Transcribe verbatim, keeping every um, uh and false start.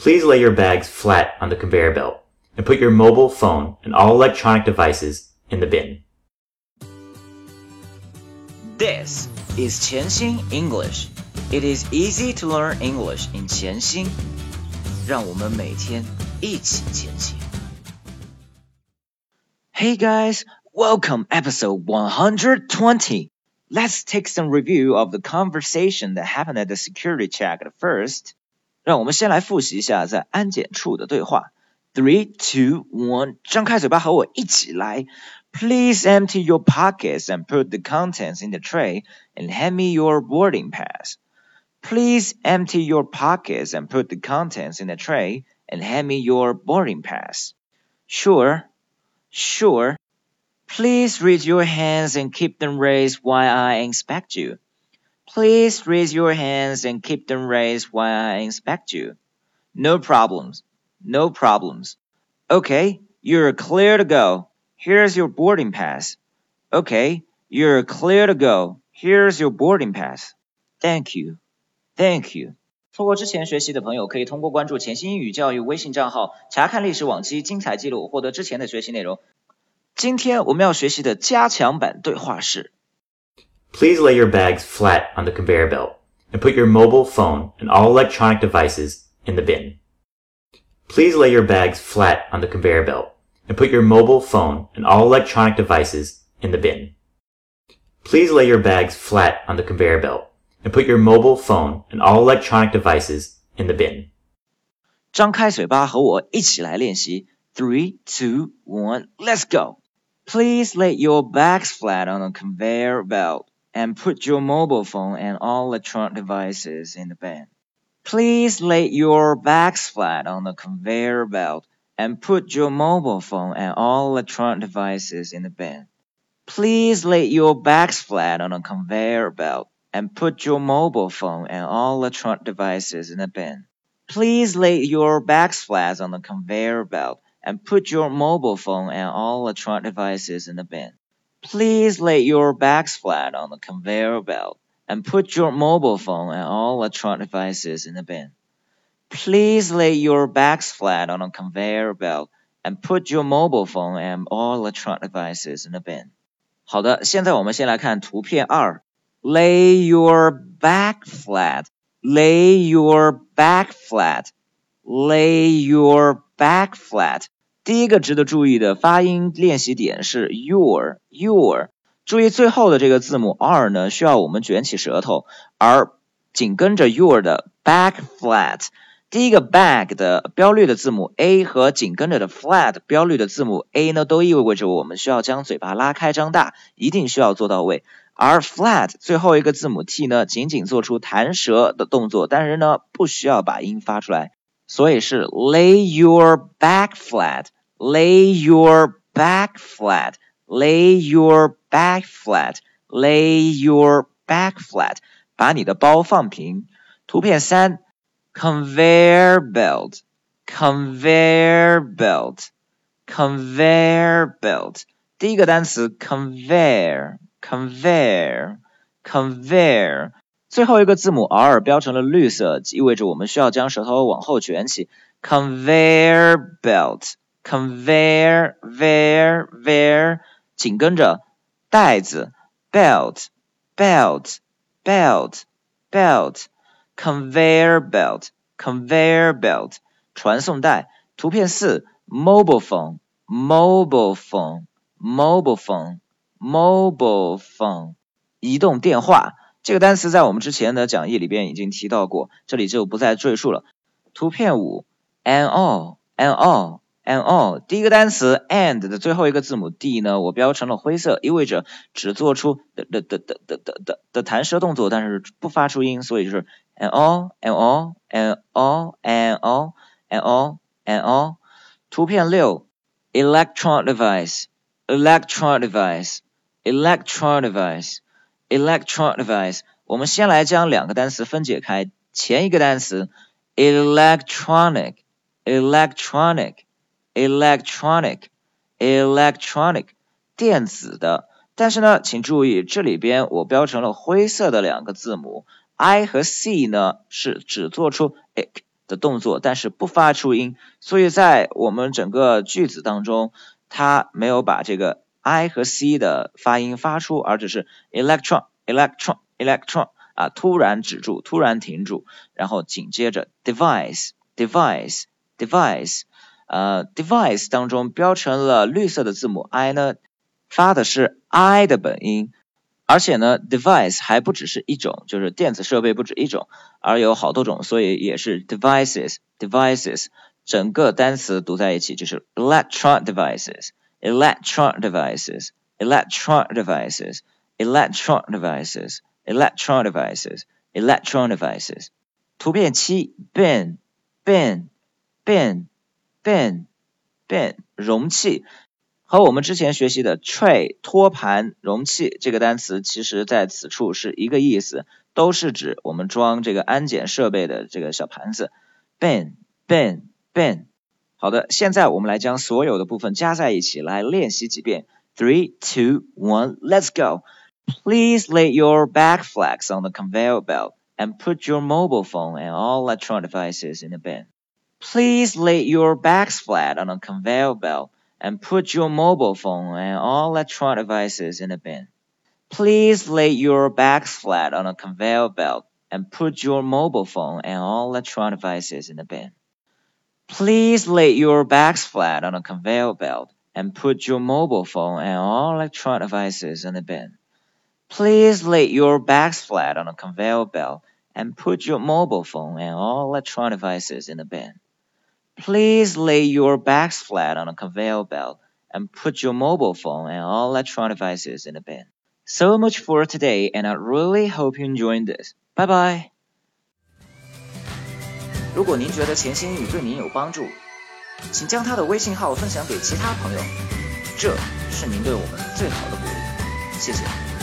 Please lay your bags flat on the conveyor belt and put your mobile phone and all electronic devices in the bin. This is 潜心 English. It is easy to learn English in 潜心。让我们每天一起前行。Hey guys, welcome episode one hundred twenty. Let's take some review of the conversation that happened at the security check at first. 让我们先来复习一下在安检处的对话。Three, two, one. 张开嘴巴和我一起来。Please empty your pockets and put the contents in the tray and hand me your boarding pass. Please empty your pockets and put the contents in the tray and hand me your boarding pass. Sure, sure. Please raise your hands and keep them raised while I inspect you. Please raise your hands and keep them raised while I inspect you. No problems, no problems. Okay, you're clear to go. Here's your boarding pass. Okay, you're clear to go. Here's your boarding pass. Thank you, thank you. 错过之前学习的朋友，可以通过关注潜心英语教育微信账号，查看历史往期精彩记录，获得之前的学习内容。今天我们要学习的加强版对话是 Please lay your bags flat on the conveyor belt and put your mobile phone and all electronic devices in the bin. Please lay your bags flat on the conveyor belt and put your mobile phone and all electronic devices in the bin. Please lay your bags flat on the conveyor belt and put your mobile phone and all electronic devices in the bin. 张开嘴巴和我一起来练习 Three, two, one, let's go! Please lay your bags flat on the conveyor belt and put your mobile phone and all electronic devices in the bin. Please lay your bags flat on the conveyor belt and put your mobile phone and all electronic devices in the bin. Please lay your bags flat on a conveyor belt and put your mobile phone and all electronic devices in the bin. Please lay your bags flat on the conveyor belt and put your mobile phone and all electronic devices in the bin. Please lay your bags flat on the conveyor belt and put your mobile phone and all electronic devices in the bin. Please lay your bags flat on a conveyor belt and put your mobile phone and all electronic devices in the bin. 好的，现在我们先来看图片二。Lay your bag flat. Lay your bag flat. Lay your bag flat. 第一个值得注意的发音练习点是 your, your. 注意最后的这个字母 r 呢，需要我们卷起舌头，而紧跟着 your 的 bag flat。第一个 bag 的标绿的字母 a 和紧跟着的 flat 标绿的字母 a 呢，都意味着我们需要将嘴巴拉开张大，一定需要做到位。而 flat 最后一个字母 t 呢，仅仅做出弹舌的动作，但是呢，不需要把音发出来，所以是 lay your bag flat, lay your bag flat, lay your bag flat, lay your bag flat. 把你的包放平。图片三。Conveyor belt, conveyor belt, conveyor belt. 第一个单词 conveyor, conveyor, conveyor. 最后一个字母 r 标成了绿色，意味着我们需要将舌头往后卷起。Conveyor belt, conveyor, veer, veer. 紧跟着带子 belt, belt, belt, belt.Conveyor belt, conveyor belt, 传送带。图片四 mobile phone, mobile phone, mobile phone, mobile phone, 移动电话。这个单词在我们之前的讲义里边已经提到过，这里就不再赘述了。图片五 and all, and all, and all. 第一个单词 and 的最后一个字母 d 呢，我标成了灰色，意味着只做出的的的的的的的的弹舌动作，但是不发出音，所以就是 and all, and all, and all, and all, and all, and all. 图片六 electronic device, electronic device, electronic device, electronic device. 我们先来将两个单词分解开，前一个单词 electronic, electronic, electronic, electronic, 电子的。但是呢，请注意这里边我标成了灰色的两个字母 I 和 C 呢是只做出 ik 的动作，但是不发出音，所以在我们整个句子当中，它没有把这个 I 和 C 的发音发出，而只是 electron electron electron 啊，突然止住，突然停住，然后紧接着 device device device 呃 device 当中标成了绿色的字母 I 呢，发的是 I 的本音，而且呢 device 还不只是一种，就是电子设备不止一种，而有好多种，所以也是 devices devices 整个单词读在一起就是 electron devices electron devices electron devices electron devices electron devices electron devices 图片七 bin bin bin bin bin 容器，和我们之前学习的 tray 托盘容器这个单词其实在此处是一个意思，都是指我们装这个安检设备的这个小盘子 bin bin bin 好的，现在我们来将所有的部分加在一起来练习几遍 three, two, one, let's go Please lay your bag flags on the conveyor belt and put your mobile phone and all electronic devices in the bin. Please lay your bags flat on the conveyor belt and put your mobile phone and all electronic devices in the bin. Please lay your bags flat on the conveyor belt and put your mobile phone and all electronic devices in the bin. Please lay your bags flat on the conveyor belt and put your mobile phone and all electronic devices in the bin.Please lay your bags flat on a conveyor belt and put your mobile phone and all electronic devices in the bin. Please lay your bags flat on a conveyor belt and put your mobile phone and all electronic devices in the bin. So much for today, and I really hope you enjoyed this. Bye bye. 如果您觉得潜心英语对您有帮助，请将他的微信号分享给其他朋友，这是您对我们最好的鼓励。谢谢。